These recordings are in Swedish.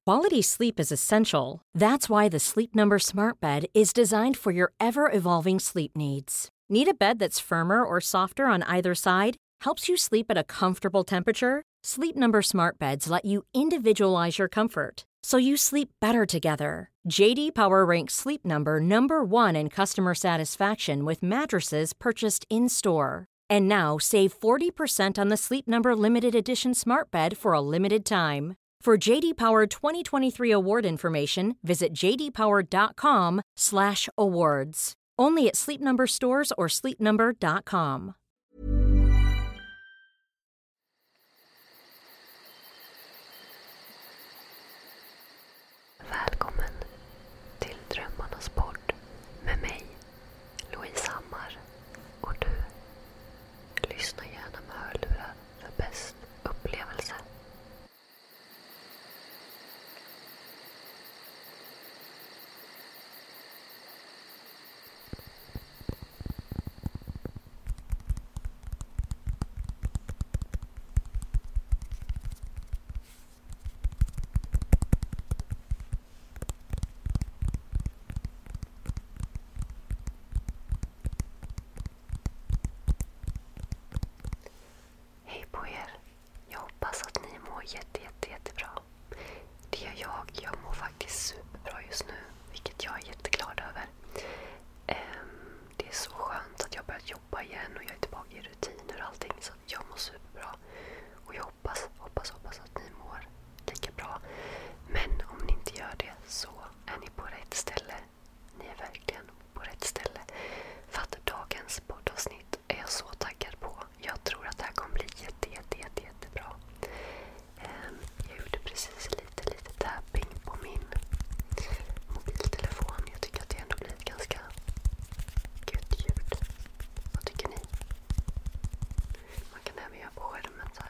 Quality sleep is essential. That's why the Sleep Number Smart Bed is designed for your ever-evolving sleep needs. Need a bed that's firmer or softer on either side? Helps you sleep at a comfortable temperature? Sleep Number Smart Beds let you individualize your comfort, so you sleep better together. JD Power ranks Sleep Number number one in customer satisfaction with mattresses purchased in-store. And now, save 40% on the Sleep Number Limited Edition Smart Bed for a limited time. For JD Power 2023 award information, visit jdpower.com/awards. Only at Sleep Number stores or sleepnumber.com. Välkommen till Drömmarnas podd med mig, Louise Hammar, och du. Lyssna gärna med hörlurar för bäst upplevelse. Hej på er. Jag hoppas att ni mår jättebra. Det gör jag. Jag mår faktiskt superbra just nu, vilket jag är jätteglad över. Det är så skönt att jag har börjat jobba igen och jag är tillbaka i rutiner och allting, så jag mår superbra. Och jag hoppas att ni mår lika bra. Men om ni inte gör det så är ni på rätt ställe. Ni är verkligen på rätt ställe. För att dagens poddavsnitt är jag så taggad på. Jag tror att det här kommer bli jättebra. Jag gjorde precis lite tapping på min mobiltelefon. Jag tycker att det ändå blir ett ganska gött ljud. Vad tycker ni? Man kan även göra på skärmen så här.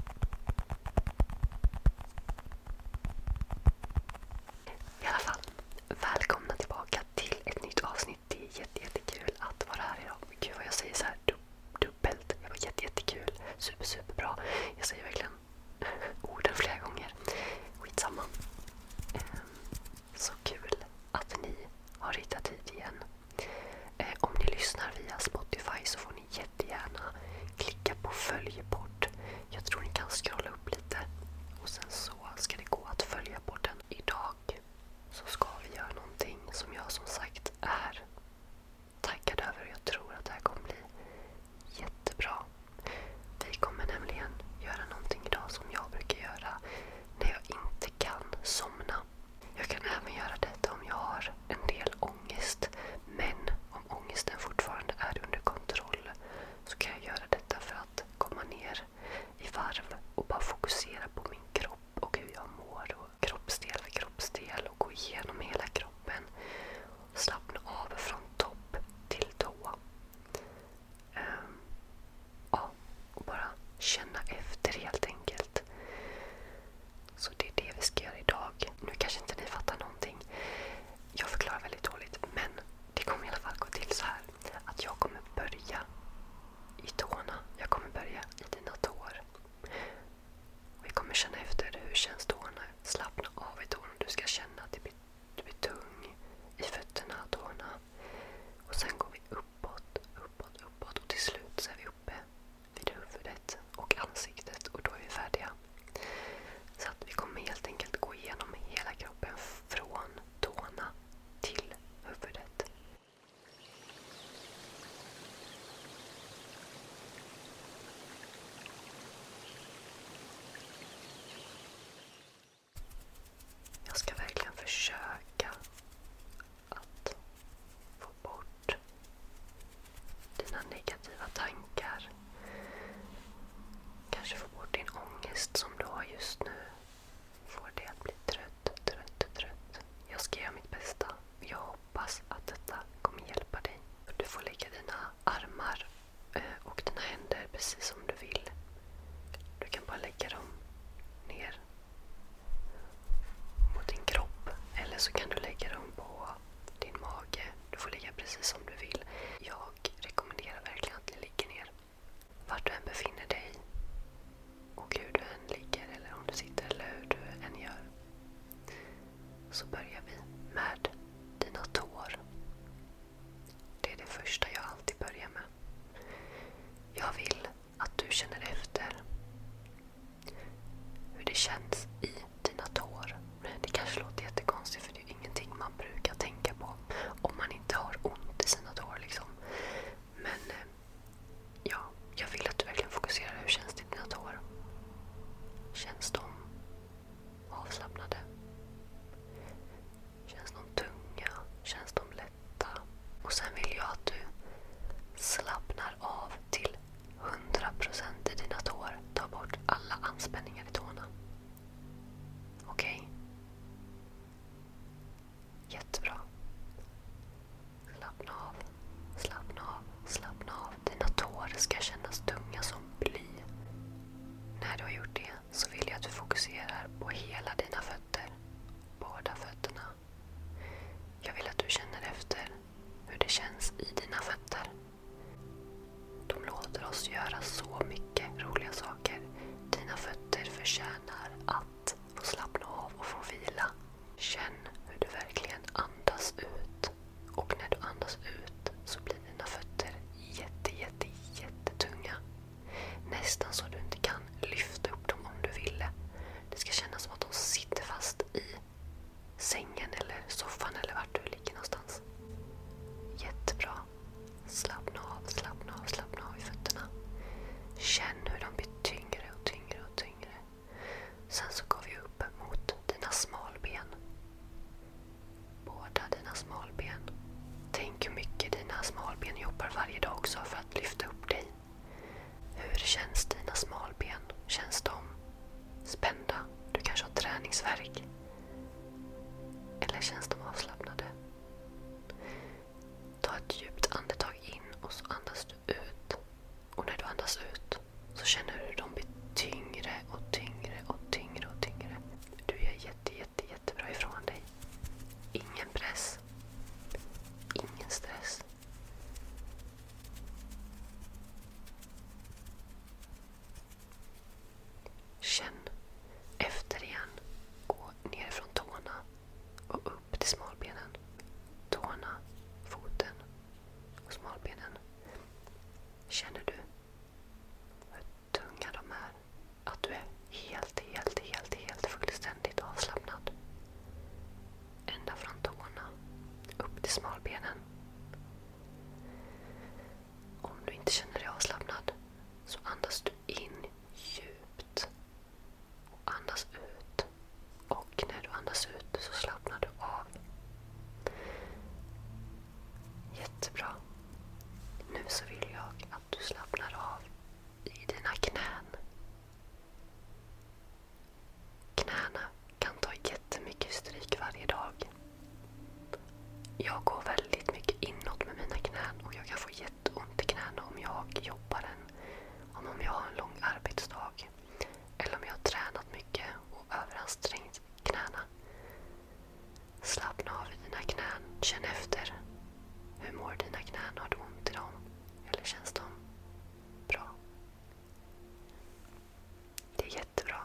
I alla fall, välkomna tillbaka till ett nytt avsnitt. Det är jättekul att vara här idag. Gud vad jag säger så här dubbelt. Det var jättekul. Superbra. Jag säger verkligen orden flera gånger. Skitsamma. Så kul att ni har hittat hit igen. Om ni lyssnar via Spotify så får ni jättegärna klicka på följepodd. Jag tror ni kan scrolla upp lite. Och sen så ska det gå att följa podden. Idag så ska vi göra någonting som jag som sagt är taggad över. Jag tror att det här kommer bli jättebra. Vi kommer nämligen göra någonting idag som jag brukar göra när jag inte kan somna. Jag kan även göra detta om jag har en del ångest. Men om ångesten fortfarande är under kontroll så kan jag göra detta för att komma ner i varv och bara fokusera på min kropp och hur jag mår och kroppsdel för kroppsdel och gå igenom hela kroppen. Slappna av från topp till tå. Ja, och bara känna efter helt enkelt. Så det är det vi ska göra idag. Nu kanske inte ni fattar någonting. Jag förklarar väldigt dåligt, men det kommer i alla fall gå till så här att jag kommer börja i tårna. Jag kommer börja i dina tår. Vi kommer känna efter hur känns tårna. Slappna av i tårna. Du ska känna att du blir tung i fötterna, tårna. Och sen går vi uppåt. Och till slut så är vi uppe vid huvudet och ansiktet. Och då är vi färdiga. Så att vi kommer helt enkelt gå igenom hela kroppen från tårna till huvudet. Jag ska verkligen försöka att få bort dina negativa tankar. Kanske få bort din ångest som du har just nu. Få det att bli trött. Jag ska göra mitt bästa. Jag hoppas att detta kommer hjälpa dig. Du får lägga dina armar och dina händer precis som du vill. Du kan bara lägga dem ner mot din kropp. Eller så kan du lägga dem på din mage. Du får lägga precis som du vill. Jag rekommenderar verkligen att ni ligger ner. Vart du än befinner dig och hur du än ligger eller om du sitter eller hur du än gör. så börjar vi med dina tår. Det är det första jag alltid börjar med. Jag vill att du känner efter hur det känns i dina tår. Det kanske låter jättekonstigt för det är ingenting man brukar tänka på om man inte har ont i sina tår liksom. Men ja, jag vill att du verkligen fokuserar hur känns det i dina tår. Känns de avslappnade? Känns de tunga? Känns de lätta? Och sen vill jag att du slappnar av till 100% i dina tår. Ta bort alla anspänningar i tårna. Okej? Jättebra. Slappna av. Slappna av. Slappna av. Dina tår ska kännas tunga som bly. När du har gjort det så vill jag att du fokuserar på hela dina fötter. Båda fötterna. Jag vill att du känner efter hur det känns i dina fötter. De låter oss göra så mycket roliga saker. Dina fötter förtjänar att få slappna av och få vila. Känn hur du verkligen andas ut. Och när du andas ut så blir dina fötter jättetunga. Nästan så du inte kan lyfta upp dem om du ville. Det ska kännas som att de sitter fast i sängen eller soffan eller vart du ligger någonstans. Jättebra. Slappna av, slappna av, slappna av i fötterna. Känn hur de blir tyngre och tyngre och tyngre. Sen så går vi upp mot dina smalben. Båda dina smalben. Tänk hur mycket dina smalben jobbar varje dag också för att lyfta upp dig. Hur känns dina smalben? Känns de spända? Du kanske har träningsvärk. Eller känns de avslappnade? Ta ett djupt andetag in och så andas du ut. Och när du andas ut så känner du hur de blir tyngre och tyngre och tyngre och tyngre. Du är jättebra ifrån dig. Ingen press. Ingen stress. Känn efter igen. Gå ner från tårna och upp till smalbenen. Tårna, foten och smalbenen. Känner du hur tunga de är? Att du är helt fullständigt avslappnad. Ända från tårna upp till smalbenen. Om du inte känner dig avslappnad så andas du in djupt och andas ut. Och när du andas ut så slappnar du av. Jättebra. Nu så vill jag att du slappnar av i dina knän. Knäna kan ta jättemycket stryk varje dag. Jag går väldigt mycket inåt med mina knän och jag kan få jätteont i knäna om jag jobbar om jag har en lång arbetsdag. Eller om jag har tränat mycket och överansträngt knäna. Slappna av i dina knän. Känn efter. Hur mår dina knän? Har du ont i dem? Eller känns de bra? Det är jättebra.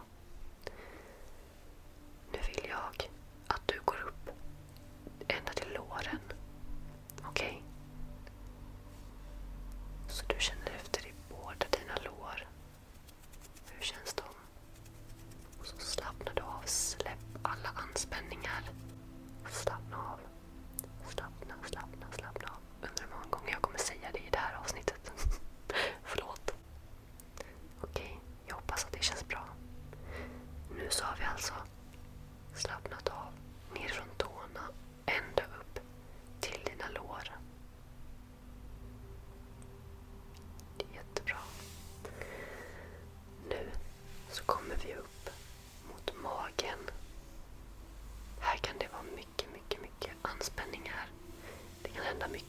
Nu vill jag att du går upp ända till låren. Okej? Så du känner efter i båda dina lår. Hur känns de? Och så slappnar du av. Släpp alla anspänningar. Slappna av. Slappna av. Undrar hur många gånger jag kommer säga det i det här avsnittet. Förlåt. Okej, jag hoppas att det känns bra. Nu så har vi alltså slappnat av ner från tårna ända upp till dina lår. Det är jättebra. Nu så kommer vi upp mot magen. Här kan det vara mycket anspänningar. Det kan hända mycket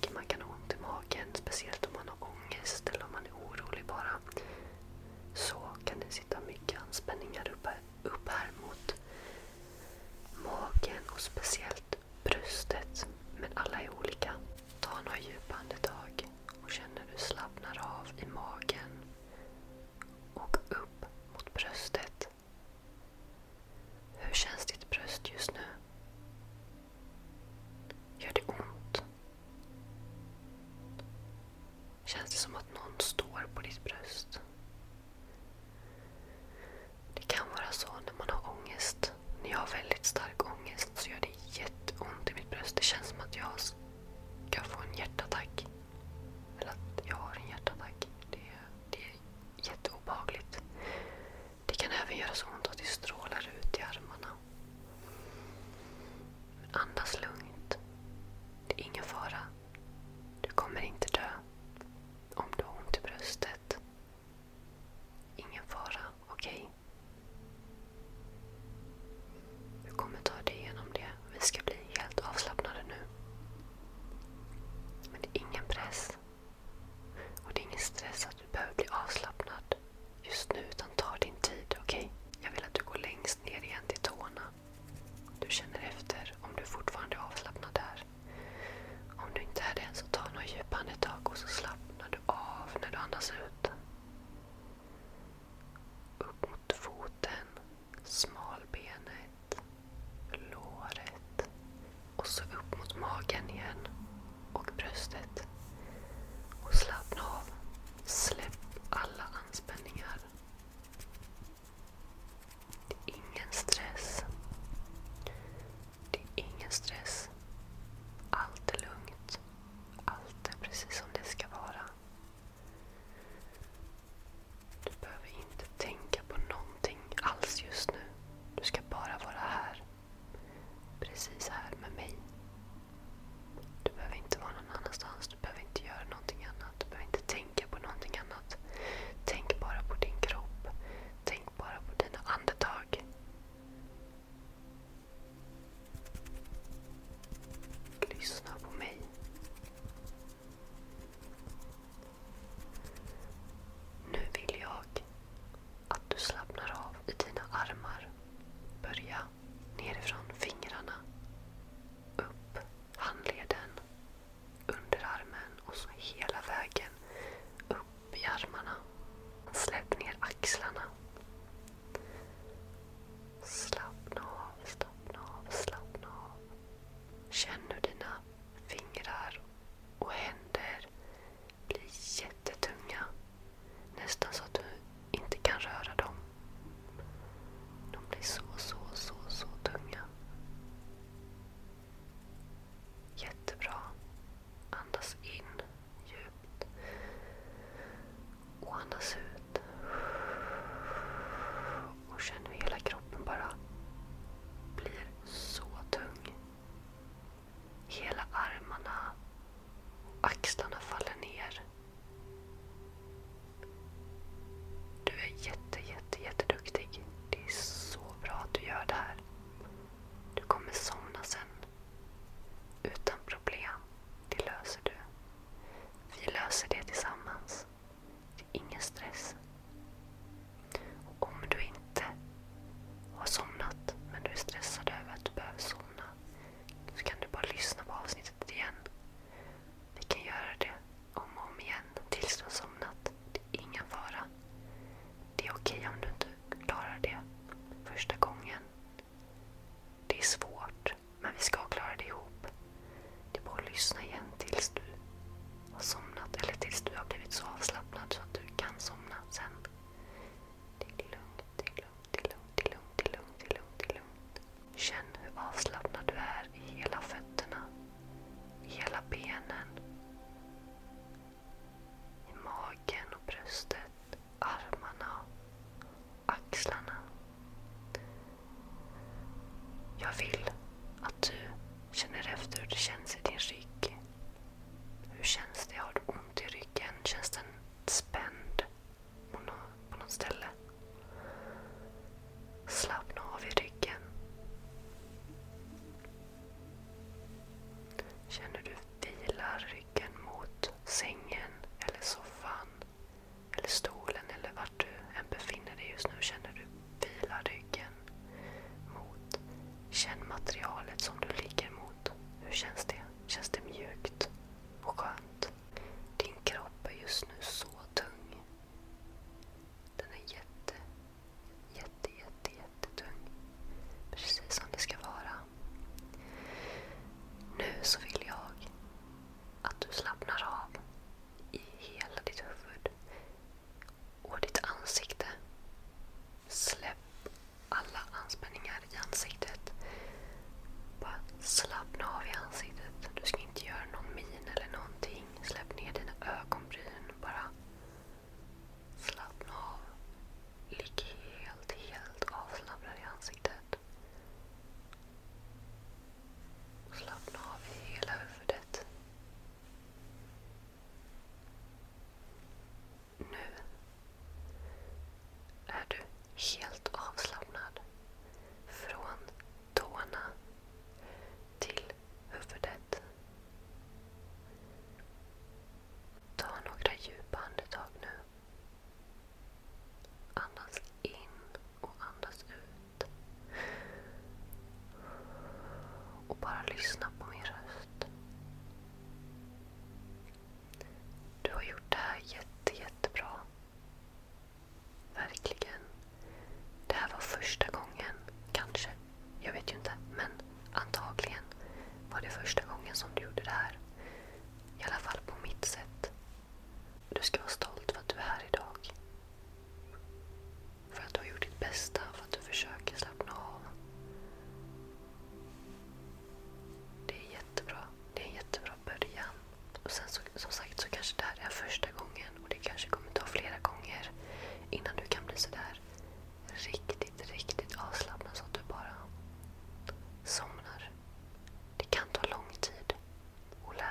Jag vill att du känner efter hur det känns i din rygg. Hur känns det? Har du ont i ryggen? Känns den spänd på något ställe? Slappna av i ryggen. Känner du vilar ryggen mot sängen eller soffan eller stolen eller vart du än befinner dig just nu? Känner du vilar ryggen mot? Känn materialet som du ligger mot. Hur känns det? Känns det mjukt och skönt? Din kropp är just nu så tung. Den är jättetung. Precis som det ska vara. Nu så vill jag att du slappnar av i hela ditt huvud och ditt ansikte. Släpp alla anspänningar i ansiktet. Bara slappna av i ansiktet. Du ska inte göra någon min eller någonting. Släpp ner dina ögonbryn. Bara slappna av. Ligg helt avslappnad i ansiktet. Slappna av i hela huvudet. Nu är du helt avslappnad från tårna till huvudet. Ta några djupa andetag nu. Andas in och andas ut. Och bara lyssna på min röst. Du har gjort det här jättebra. Verkligen. Det här var första gången, kanske. Jag vet ju inte, men antagligen var det första gången som du gjorde det här. I alla fall på mitt sätt. Du ska vara stolt för att du är här idag. För att du har gjort ditt bästa, för att du försöker slappna av. Det är jättebra. Det är en jättebra början. Och sen så, som sagt så kanske det här är första gången. Och det kanske kommer ta flera gånger innan du kan bli så där riktigt avslappnad så att du bara somnar. Det kan ta lång tid att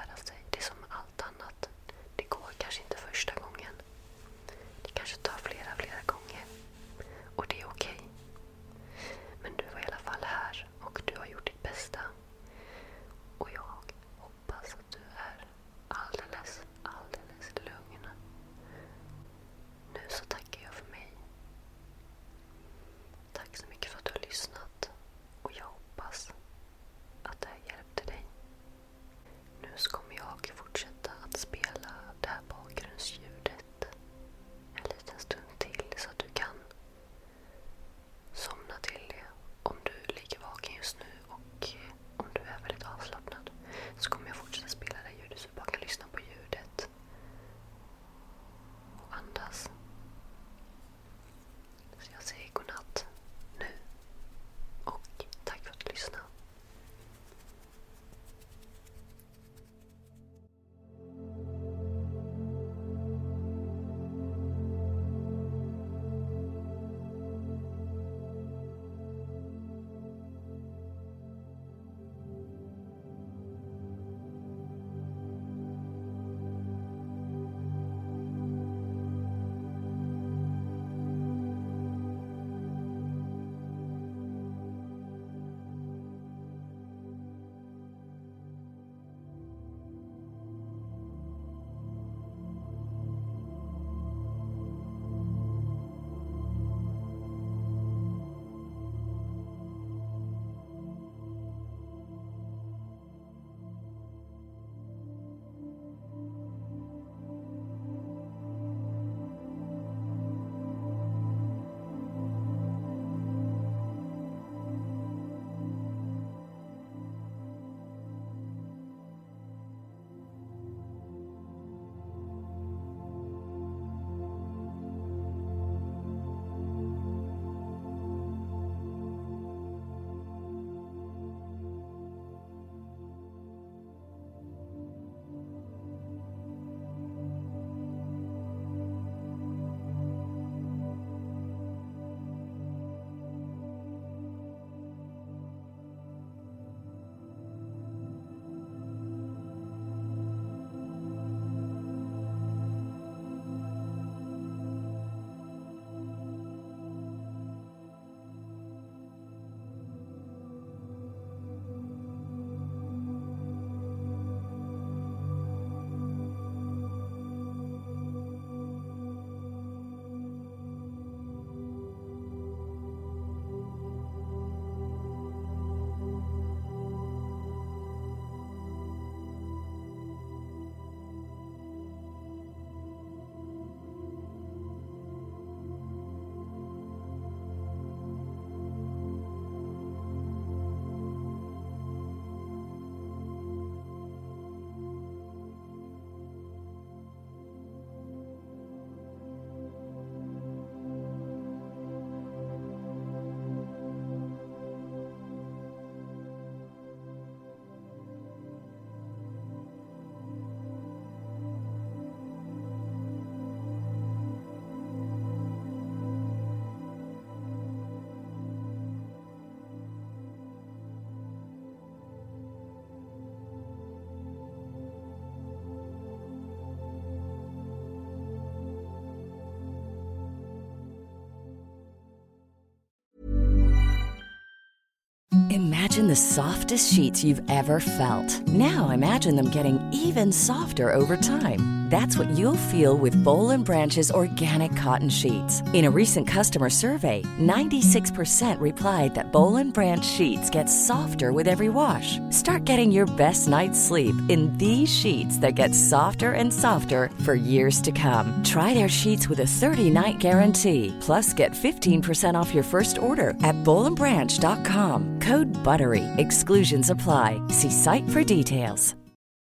Imagine the softest sheets you've ever felt. Now imagine them getting even softer over time. That's what you'll feel with Bowl and Branch's organic cotton sheets. In a recent customer survey, 96% replied that Bowl and Branch sheets get softer with every wash. Start getting your best night's sleep in these sheets that get softer and softer for years to come. Try their sheets with a 30-night guarantee. Plus, get 15% off your first order at bowlandbranch.com. Code BUTTERY. Exclusions apply. See site for details.